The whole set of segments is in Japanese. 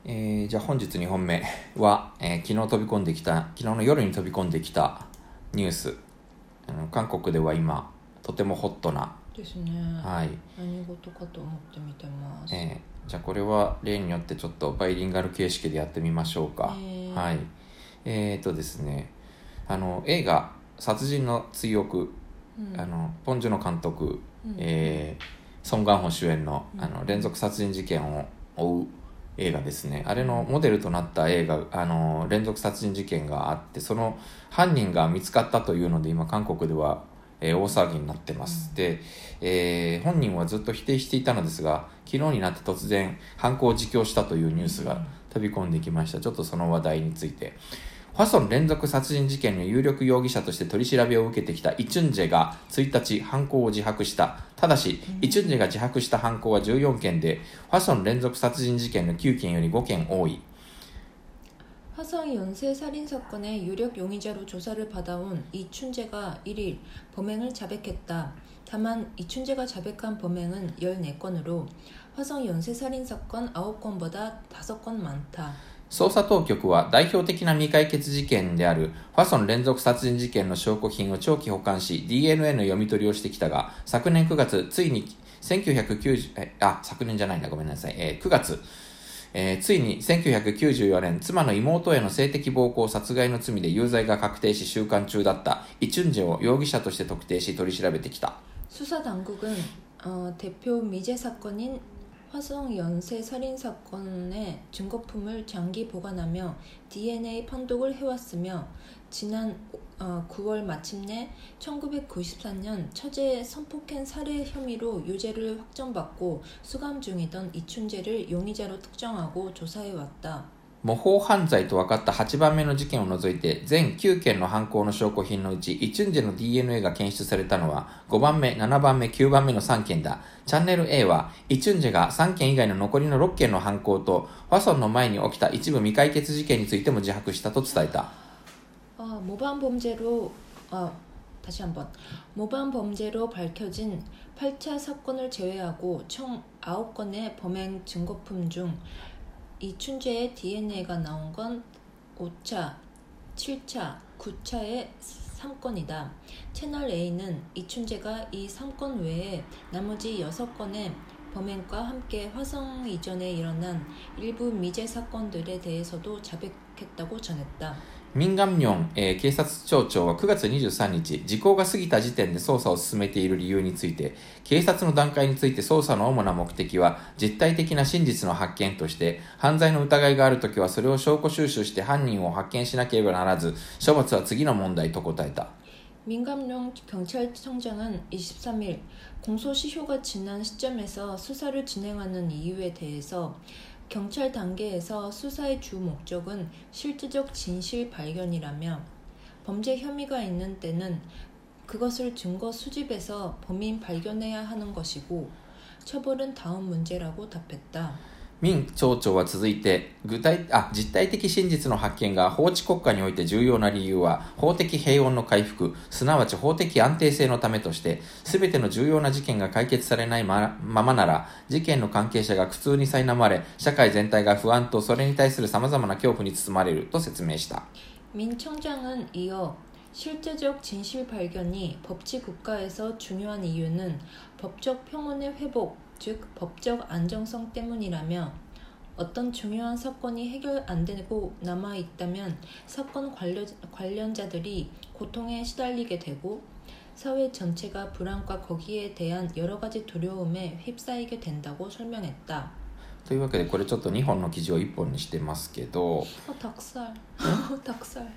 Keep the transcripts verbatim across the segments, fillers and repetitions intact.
えー、じゃあ本日にほんめは、えー、昨日飛び込んできた昨日の夜に飛び込んできたニュース。あの韓国では今とてもホットなですね、 はい、 何事かと思って見てます。 えー、じゃあこれは例によってちょっとバイリンガル形式でやってみましょうか。 えー、 はいえーとですねあの映画殺人の追憶、うん、あのポン・ジュノ監督、うんえー、ソン・ガンホ主演 の, あの連続殺人事件を追う映画ですね。あれのモデルとなった映画、あの連続殺人事件があって、その犯人が見つかったというので今韓国では、えー、大騒ぎになってます、うん、で、えー、本人はずっと否定していたのですが、昨日になって突然犯行を自供したというニュースが飛び込んできました。ちょっとその話題について。ファソン連続殺人事件の有力容疑者として取り調べを受けてきたイ・チュンジェがついたち犯行を自白した。ただし、イ・チュンジェが自白した犯行はじゅうよんけんで、ファソン連続殺人事件のきゅうけんよりごけん多い。 화성연쇄살인사건의 유력 용의자로 조사를 받아온 이춘재가 일 일 범행을 자백했다. 다만 이춘재가 자백한 범행은 열네 건으로 화성연쇄살인사건 아홉 건보다 다섯 건 많다. 捜査当局は代表的な未解決事件であるファソン連続殺人事件の証拠品を長期保管し ディーエヌエー の読み取りをしてきたが、昨年くがつついにせんきゅうひゃくきゅうじゅうえあ昨年じゃないんだごめんなさい、えー、くがつ、えー、ついにせんきゅうひゃくきゅうじゅうよねん妻の妹への性的暴行殺害の罪で有罪が確定し収監中だったイ・チュンジェを容疑者として特定し取り調べてきた。 수사당국은 어, 대표 미제 사건인 화성 연쇄 살인 사건의 증거품을 장기 보관하며 디엔에이 판독을 해왔으며 지난 어, 구월 마침내 천구백구십사 년 처제 성폭행 살해 혐의로 유죄를 확정받고 수감 중이던 이춘재를 용의자로 특정하고 조사해왔다. 模倣犯罪と分かったはちばんめの事件を除いて全きゅうけんの犯行の証拠品のうちイ・チュンジェの ディーエヌエー が検出されたのはごばんめ、ななばんめ、きゅうばんめのさんけんだ。チャンネル A はイ・チュンジェがさんけん以外の残りのろっけんの犯行とファソンの前に起きた一部未解決事件についても自白したと伝えた。 아, 모반 범죄로 아, 다시 한번 모반 범죄로 밝혀진 팔 차 사건을 제외하고 총 아홉 건의 범행 증거품 중 이춘재의 디엔에이가 나온 건 오 차, 칠 차, 구 차의 삼 건이다. 채널 A는 이춘재가 이 삼 건 외에 나머지 여섯 건의 범행과 함께 화성 이전에 일어난 일부 미제 사건들에 대해서도 자백했다고 전했다. ミンガンミョン、えー、警察庁長はくがつにじゅうさんにち、時効が過ぎた時点で捜査を進めている理由について、警察の段階について捜査の主な目的は実体的な真実の発見として、犯罪の疑いがあるときはそれを証拠収集して犯人を発見しなければならず、処罰は次の問題と答えた。 민감룡 경찰청장은 이십삼 일 공소시효가 지난 시점에서 수사를 진행하는 이유에 대해서 경찰 단계에서 수사의 주 목적은 실질적 진실 발견이라며 범죄 혐의가 있는 때는 그것을 증거 수집해서 범인 발견해야 하는 것이고 처벌은 다음 문제라고 답했다. ミン町長は続いて具体あ実体的真実の発見が法治国家において重要な理由は法的平穏の回復、すなわち法的安定性のためとして、すべての重要な事件が解決されないままなら事件の関係者が苦痛に苛まれ、社会全体が不安とそれに対する様々な恐怖に包まれると説明した。 민 청장은 이어 실제적 진실 발견이 법치 국가에서 중요한 이유는 법적 평온의 회복, 즉 법적 안정성 때문이라며 어떤 중요한 사건이 해결 안 되고 남아있다면 사건 관련, 관련자들이 고통에 시달리게 되고 사회 전체가 불안과 거기에 대한 여러 가지 두려움에 휩싸이게 된다고 설명했다. というわけでこれちょっとにほんの記事をいっぽんにしてますけど、 어, 닭살. 닭살.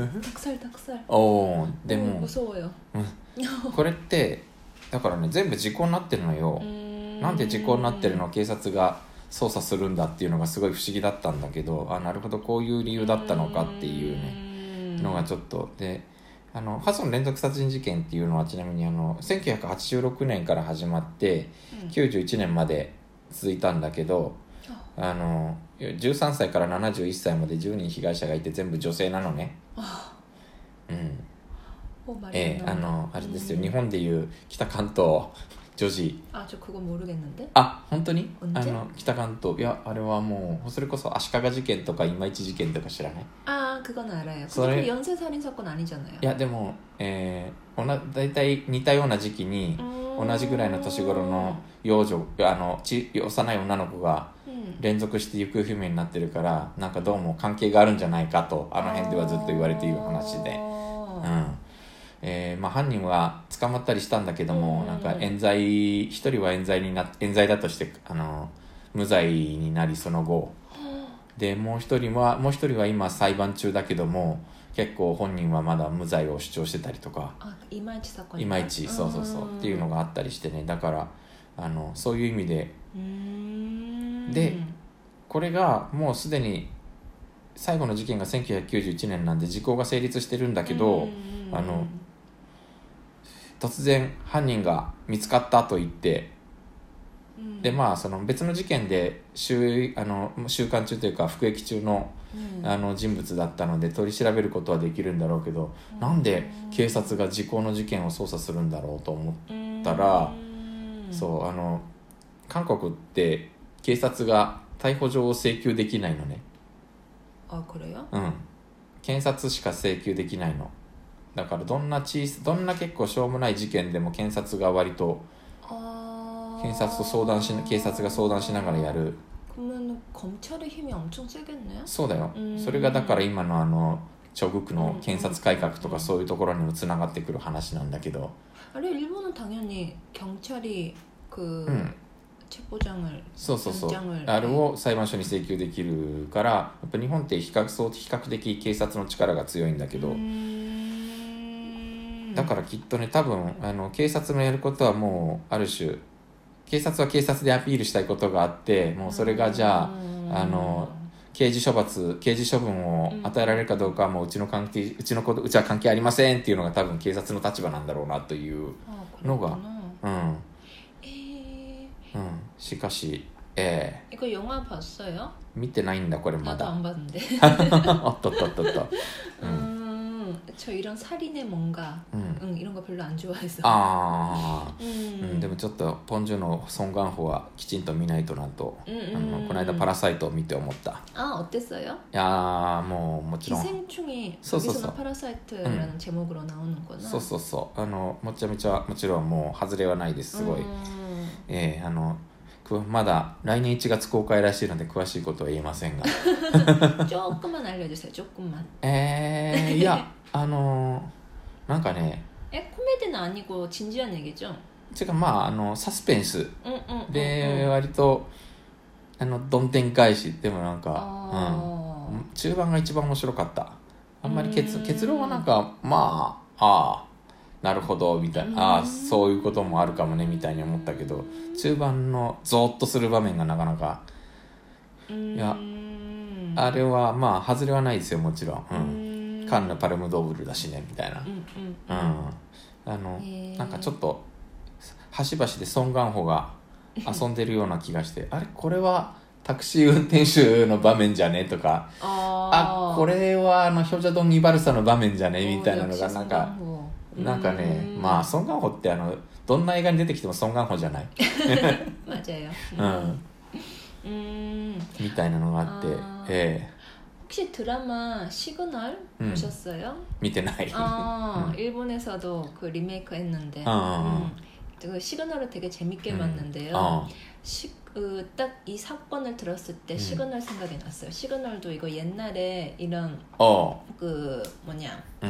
닭살 닭살. おーでも 무서워요. これってだからね全部時効になってるのよ。なんで時効になってるのを警察が捜査するんだっていうのがすごい不思議だったんだけど、あなるほどこういう理由だったのかっていうねのがちょっとで、あのファソン連続殺人事件っていうのはちなみにあのせんきゅうひゃくはちじゅうろくねんから始まってきゅうじゅういちねんまで続いたんだけど、あのじゅうさんさいからななじゅういっさいまでじゅうにん被害者がいて全部女性なのね。うん。えー、あのあれですよ、日本でいう北関東女児 아, 저 그거 모르겠는데. あ本当に 언제? あの北関東いやあれはもうそれこそ足利事件とか今市事件とか知らない 아, 그건 알아요. それ- 근데 그 연쇄 살인 사건 아니잖아요. いやでも、えー、おな大体似たような時期に 음. 同じぐらいの年頃の幼女あのち幼い女の子が 음. 連続して行方不明になってるからなんかどうも関係があるんじゃないかとあの辺ではずっと言われている話で、 아. うんえーまあ、犯人は捕まったりしたんだけども、 うんなんか冤罪一人は冤罪にな冤罪だとしてあの無罪になりその後でもう一人はもう一人は今裁判中だけども結構本人はまだ無罪を主張してたりとか 아, 이마이치 사건. いまいちそうそうそうっていうのがあったりしてねだからあのそういう意味で 음. でこれがもうすでに最後の事件がせんきゅうひゃくきゅうじゅういちねんなんで時効が成立してるんだけど、 음. あの突然犯人が見つかったと言って、 음. でまあその別の事件で収あの収監中というか服役中の 음. あの人物だったので取り調べることはできるんだろうけど、なんで警察が時効の事件を捜査するんだろうと思ったら、 음. そうあの韓国って警察が逮捕状を請求できないのね。 아, 그래요? うん検察しか請求できないのだからどんな小さどんな結構しょうもない事件でも検察が割と 아. 検察と相談し警察が相談しながらやる 그러면 검찰의 힘이 엄청 세겠네요? そうだよ、 うんそれがだから今のあのチョグクの検察改革とかそういうところにもつながってくる話なんだけど、 아니, 일본은 당연히 경찰이 그 음. 체포장을 そうそうそう 연장을 あれを裁判所に請求できるからやっぱ日本って比較そう比較的警察の力が強いんだけど、 음. だからきっとね多分あの警察のやることはもうある種警察は警察でアピールしたいことがあってもうそれがじゃああの刑事処罰刑事処分を与えられるかどうかはもううちの関係うちのことうちは関係ありませんっていうのが多分警察の立場なんだろうなという 아, 노가. 그렇구나. うん 에이. うんしかしえ 이거 영화 봤어요? ー、見てないんだこれま 나도 だ 안 봤는데. おっとっとっとっと、うん 음, 저 이런 살인의 뭔가, うん 응, 이런 거 별로 안 좋아해서. ああ、 음. うん、でもちょっとポン・ジュのソン・ガンホはきちんと見ないとなと、 음, あの 음. この間パラサイトを見て思った。 아, 어땠어요? いやーもうもちろん 기생충이 소소소. 여기서는 파라사이트라는 제목으로 나오는구나. そうそうそうあのもちゃめちゃもちろんもう外れはないですすごい、 음. えー、あのくまだ来年いちがつ公開らしいので詳しいことは言えませんが 조금만 알려주세요. 조금만. えー、いやあのなんかね 에 코미디는 아니고 진지한 얘기죠? てかまああのサスペンス 응, 응, で 응, 응. 割とあのどんでん返しでもなんか、 아. うん、中盤が一番面白かったあんまり結うん結論はなんかまあああなるほどみたいな、 うんああそういうこともあるかもねみたいに思ったけど中盤のゾーッとする場面がなかなか 음. いやあれはまあ外れはないですよもちろん、うん 음. カンヌパルムドーブルだしねみたいな、 음, 음, うん 음. あのへーなんかちょっと端々でソン・ガンホが遊んでるような気がしてあれこれはタクシー運転手の場面じゃねとか 아, あこれはあのヒョジャドン・イバルサの場面じゃね 어, みたいなのが 역시 なんか 송강호. なんかね 음. まあソン・ガンホってあのどんな映画に出てきてもソン・ガンホじゃない、 맞아요. うん 음. みたいなのがあって 아. え 혹시 드라마 시그널 음. 보셨어요? ー見てない 아, うん 일본에서도 그 리메이크 했는데 아. 음, 그 시그널을 되게 재밌게 음. 봤는데요. 어. 그, 딱 이 사건을 들었을 때 음. 시그널 생각이 났어요. 시그널도 이거 옛날에 이런 お 그 뭐냐 う、うん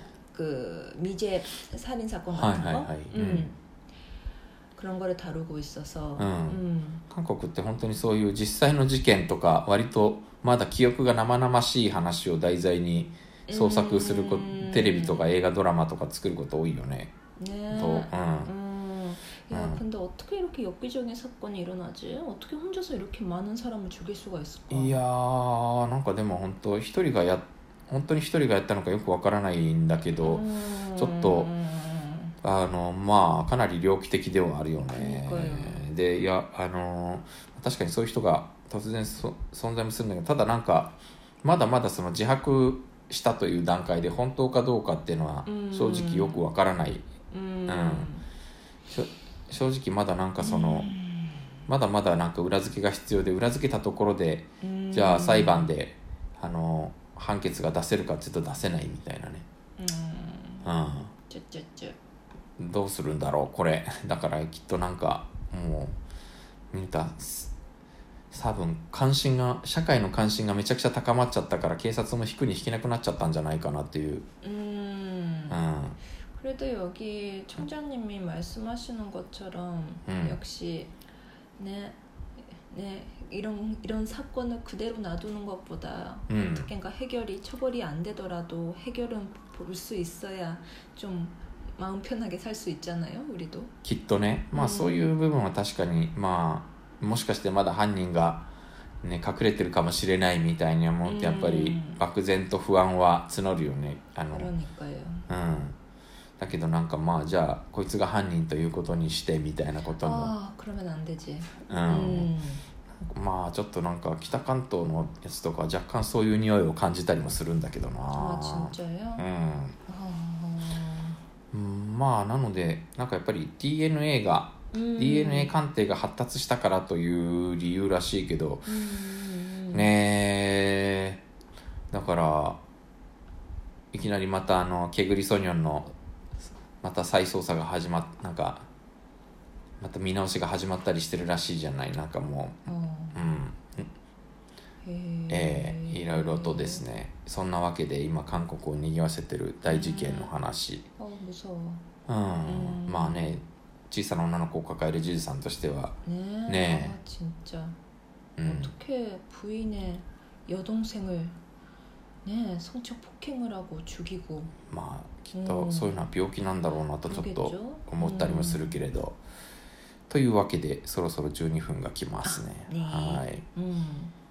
그 미제 살인 사건 하이, 같은 하이, 거, 하이. 음. 음. 그런 거를 다루고 있어서, 음. 음. 韓国って本当にそういう実際の事件とか割とまだ記憶が生々しい話を題材に創作するこうんテレビとか映画ドラマとか作ること多いよね 네. と、うん 음. 야, 음. 근데 어떻게 이렇게 엽기적인 사건이 일어나지? 어떻게 혼자서 이렇게 많은 사람을 죽일 수가 있을까? いやーなんかでも本当一人がや本当に一人がやったのかよくわからないんだけど、 음. ちょっとあのまあかなり猟奇的ではあるよねそうかよでいやあの確かにそういう人が突然そ存在もするんだけどただなんかまだまだその自白したという段階で本当かどうかっていうのはうん正直よくわからない、 음. うんちょ正直まだなんかその、まだまだなんか裏付けが必要で、裏付けたところでじゃあ裁判であの判決が出せるかっていうと出せないみたいなね。 うん、ちょちょちょどうするんだろうこれ。だからきっとなんかもうみんな多分関心が社会の関心がめちゃくちゃ高まっちゃったから警察も引くに引けなくなっちゃったんじゃないかなっていう。 うん、 うん、 그래도 여기 총장님이 말씀하시는 것처럼 음. 역시 네, 네 이런 이런 사건을 그대로 놔두는 것보다 음. 어떻게인가 해결이 처벌이 안 되더라도 해결은 볼 수 있어야 좀 마음 편하게 살 수 있잖아요, 우리도. きっとね、まあそういう部分は確かに、まあもしかしてまだ犯人がね隠れてるかもしれないみたいに思ってやっぱり漠然と不安は募るよね。あの、 그러니까요. うん。だけどなんかまあじゃあこいつが犯人ということにしてみたいなことも。 ああ、그러면 안 되지. うん。まあちょっとなんか北関東のやつとか若干そういう匂いを感じたりもするんだけどな。 あ、진짜요? うん。うん、まあなのでなんかやっぱり ディーエヌエー が ディーエヌエー 鑑定が発達したからという理由らしいけど、ねえ、だからいきなりまたあのケグリソニョンのまた再捜査が始まっなんかまた見直しが始まったりしてるらしいじゃない。なんかもう、うん、ええー、いろいろとですね。そんなわけで今韓国を賑わせてる大事件の話。うん、まあね、小さな女の子を抱えるじいさんとしてはねねえ、진짜 어떻게 부인의 여동생을 네, 성적 폭행을 하고 죽이고. まあきっとそういうのは病気なんだろうなとちょっと思ったりもするけれど、というわけでそろそろじゅうにふんが来ますね。 ね、 はい。 うん